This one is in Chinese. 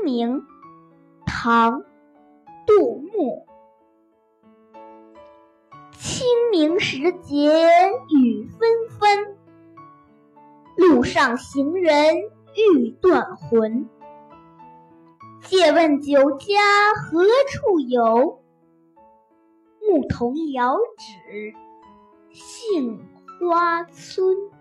明，唐·杜牧。清明时节雨纷纷，路上行人欲断魂。借问酒家何处有？牧童遥指杏花村。